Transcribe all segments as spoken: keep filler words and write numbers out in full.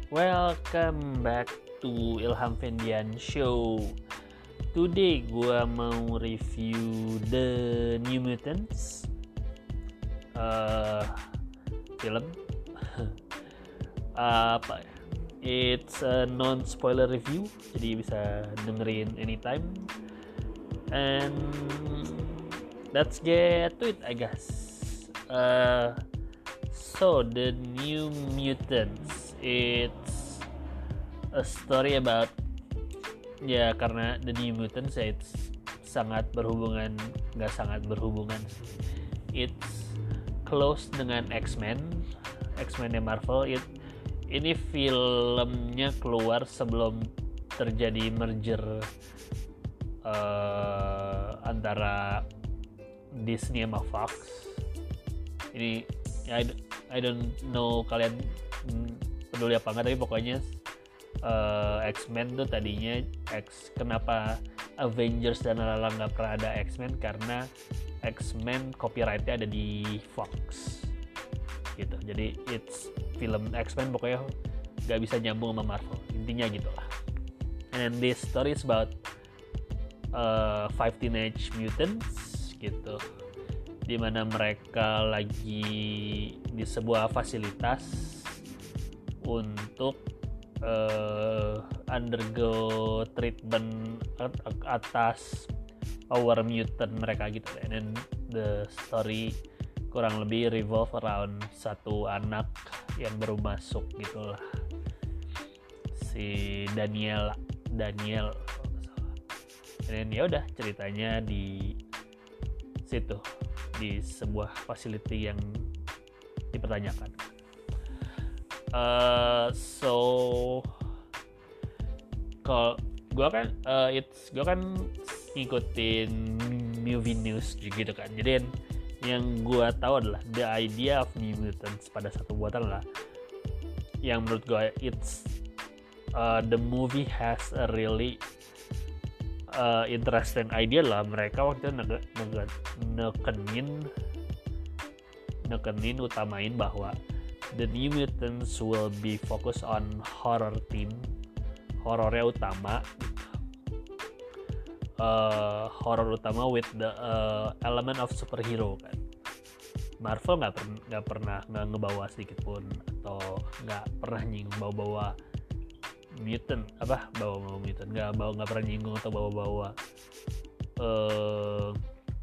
Welcome back to Ilham Fendian Show. Today gua mau review The New Mutants, uh, film. Apa ya? It's a non-spoiler review, jadi bisa dengerin anytime. And let's get to it, I guess. Uh, so The New Mutants. It's a story about ya karena The New Mutants ya it's sangat berhubungan nggak sangat berhubungan it's close dengan X-Men X-Men Marvel. It ini filmnya keluar sebelum terjadi merger uh, antara Disney sama Fox. Ini I, I don't know kalian peduli apa enggak, tapi pokoknya uh, X-Men tuh tadinya X kenapa Avengers dan lalang nggak pernah ada X-Men karena X-Men copyrightnya ada di Fox gitu. Jadi it's film X-Men pokoknya nggak bisa nyambung sama Marvel, intinya gitulah. And this story is about uh, five teenage mutants gitu, dimana mereka lagi di sebuah fasilitas untuk uh, undergo treatment atas power mutant mereka gitu. And then the story kurang lebih revolve around satu anak yang baru masuk gitulah, si Daniel Daniel dan ya udah ceritanya di situ, di sebuah facility yang dipertanyakan. Uh, so kalau gue kan uh, it's gue kan ngikutin movie news gitu kan, jadi yang gue tahu adalah the idea of New Mutants pada satu buatan lah yang menurut gue it's uh, the movie has a really uh, interesting idea lah. Mereka waktu itu nege, nege, nekenin nekenin utamain bahwa The New Mutants will be focused on horror theme, horornya utama, uh, horror utama with the uh, element of superhero kan. Marvel nggak per, nggak pernah nggak ngebawa sedikit pun atau nggak pernah nyinggung bawa-bawa mutant apa bawa-bawa mutant nggak bawa nggak pernah nyinggung atau bawa-bawa uh,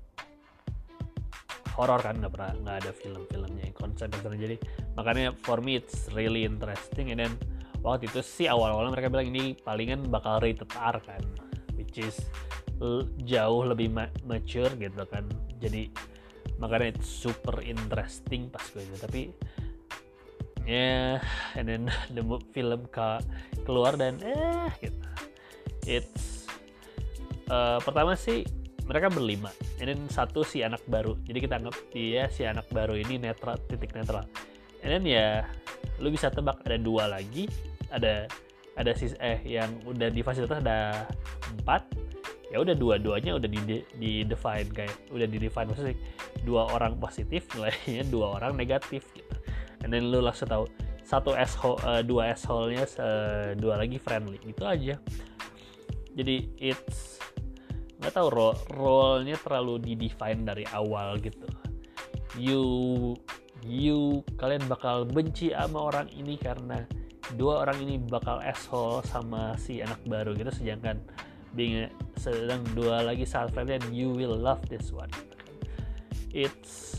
horor kan, nggak pernah nggak ada film-filmnya yang konsep yang jadi makanya for me it's really interesting. And then waktu itu sih awal-awalnya mereka bilang ini palingan bakal rated R kan, which is l- jauh lebih ma- mature gitu kan, jadi makanya it's super interesting pas gue itu. Tapi ya yeah, and then the film ke- keluar dan eh gitu it's uh, pertama sih mereka berlima, and then satu si anak baru, jadi kita anggap dia si anak baru ini netral, titik netral. And then ya lu bisa tebak ada dua lagi, ada ada sis eh yang udah di fasilitas ada empat, ya udah dua-duanya udah di di define kayak udah di define maksudnya dua orang positif, nilainya dua orang negatif gitu. And then lu langsung tahu satu asshole, uh, dua asshole-nya, uh, dua lagi friendly gitu aja. Jadi it's nggak tahu role role-nya terlalu di define dari awal gitu. You you kalian bakal benci sama orang ini karena dua orang ini bakal asshole sama si anak baru gitu, sedangkan being sedang dua lagi saat friendly and you will love this one. It's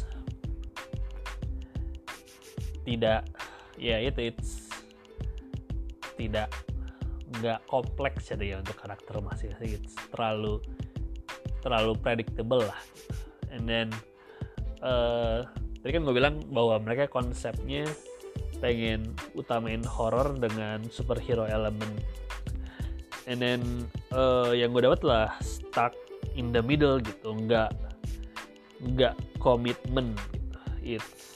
tidak ya itu it's tidak nggak kompleks jadi ya untuk karakter masing-masing. It's terlalu terlalu predictable lah. And then uh, tadi kan gue bilang bahwa mereka konsepnya pengen utamain horror dengan superhero element. And then uh, yang gue dapat lah stuck in the middle gitu, nggak nggak komitmen gitu. It's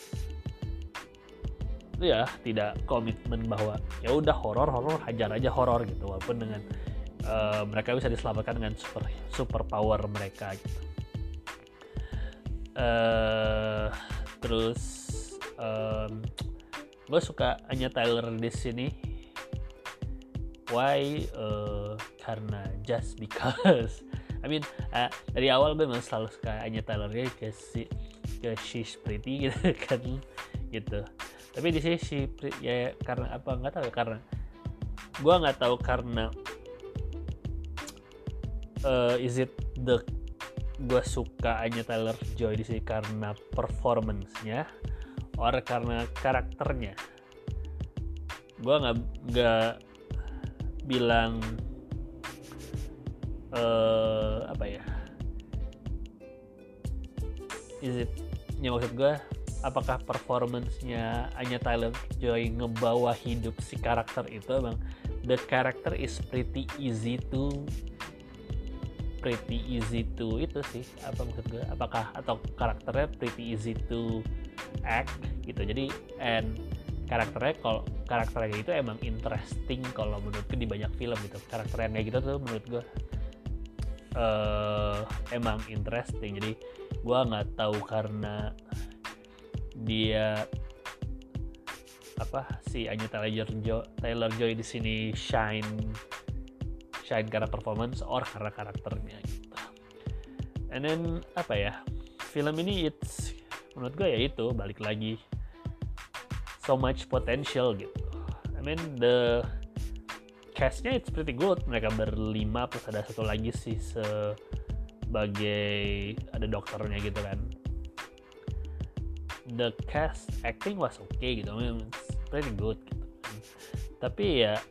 itu ya tidak komitmen bahwa ya udah horor horor hajar aja horor gitu, walaupun dengan uh, mereka bisa diselamatkan dengan super super power mereka gitu. Uh, terus um, gue suka Anya Taylor di sini why uh, karena just because I mean uh, dari awal gue memang selalu suka Anya Taylor-Joy ke si ke she's pretty gitu kan gitu. Tapi di sini si ya karena apa nggak tahu ya, karena gue nggak tahu karena uh, is it the gue suka Anya Taylor-Joy di sini karena performance-nya or karena karakternya. Gue nggak nggak bilang uh, apa ya is it ya maksud gue apakah performance-nya Anya Taylor-Joy ngebawa hidup si karakter itu. Emang the character is pretty easy to pretty easy to itu sih apa maksud gue, apakah atau karakternya pretty easy to act gitu. Jadi and karakternya kalau karakternya itu emang interesting kalau menurutku di banyak film gitu. Karakter yang kayak gitu tuh menurut gue uh, emang interesting. Jadi gue nggak tahu karena dia apa si Anya Taylor-Joy Taylor-Joy di sini shine shine karena performance or karena karakternya gitu. And then apa ya, film ini it's menurut gue ya itu balik lagi so much potential gitu. I mean the castnya it's pretty good, mereka berlima plus ada satu lagi sih sebagai ada dokternya gitu kan. The cast acting was okay gitu, I mean, it's pretty good gitu. Tapi ya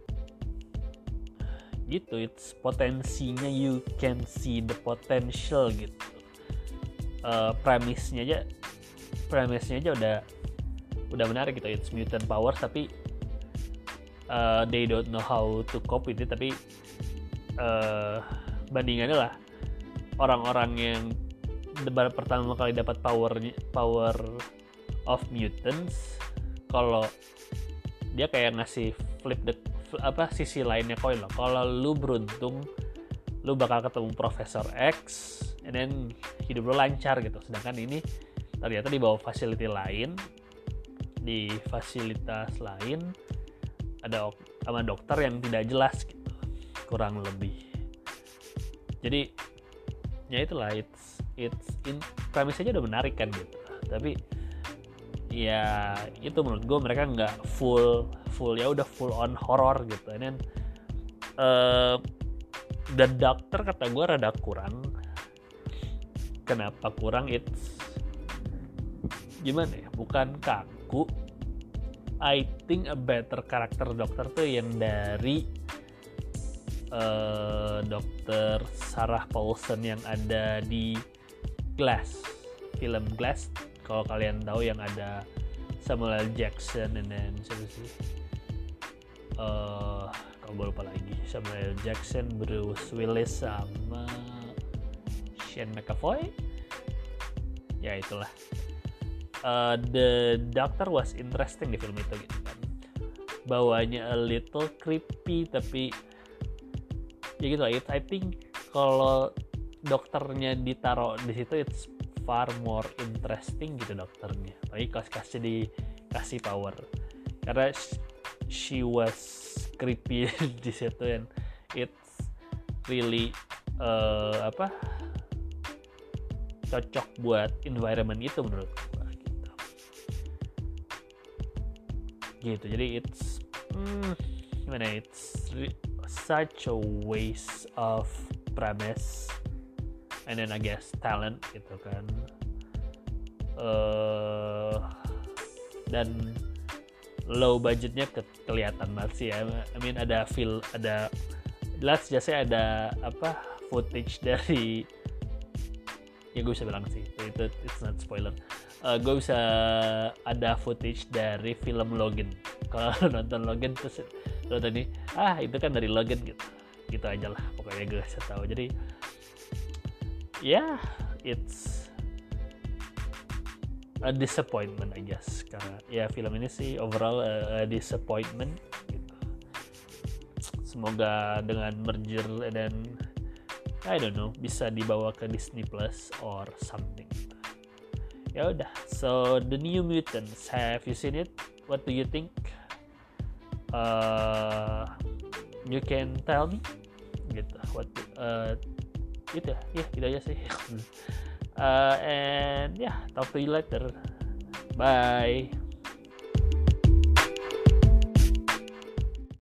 gitu, it's potensinya you can see the potential gitu. Uh, premisnya aja, premisnya aja udah udah menarik gitu. It's mutant powers tapi uh, they don't know how to cope with it. Tapi uh, bandingannya lah orang-orang yang debat pertama kali dapat power power of mutants, kalau dia kayak ngasih flip the apa sisi lainnya koin loh. Kalau lu beruntung lu bakal ketemu Profesor X and then hidup lu lancar gitu. Sedangkan ini ternyata di bawah facility lain, di fasilitas lain ada sama dokter yang tidak jelas gitu kurang lebih. Jadi ya itulah, it's it's in premis aja udah menarik kan gitu. Tapi ya itu menurut gue mereka nggak full full ya udah full on horror gitu. And then uh, The Doctor kata gue rada kurang. Kenapa kurang? It's gimana ya, bukan kaku. I think a better karakter dokter tuh yang dari uh, dokter Sarah Paulson yang ada di Glass, film Glass. Kalau kalian tahu yang ada Samuel L. Jackson and then siapa sih? Uh, kalau gue lupa lagi. Samuel L. Jackson, Bruce Willis sama Shane McAvoy. Ya itulah. Uh, the Doctor was interesting di film itu gitu kan. Bawanya a little creepy tapi ya gitu lah. I think kalau dokternya ditaruh di situ it's far more interesting gitu dokternya. Tapi kas-kasnya dikasih power karena she was creepy di situ and it's really uh, apa cocok buat environment itu menurut gue gitu. Gitu. Jadi it's hmm, gimana? It's re- such a waste of premise. And then I guess talent gitu kan. Uh, dan low budgetnya ke- kelihatan banget sih ya. I mean ada feel, ada jelas jasanya ada apa footage dari ya gue bisa bilang sih itu it's not spoiler. Uh, gue bisa ada footage dari film Logan. Kalau nonton Logan terus nonton ini ah itu kan dari Logan gitu. Gitu aja lah pokoknya gue bisa tahu. Jadi yeah, it's a disappointment I guess karena ya film ini sih overall a, a disappointment gitu. Semoga dengan merger dan I don't know bisa dibawa ke Disney Plus or something. Ya udah, so The New Mutants, have you seen it? What do you think? Uh, you can tell me gitu what uh, itu ya yeah, gitu aja sih. uh, and yeah, talk to you later, bye.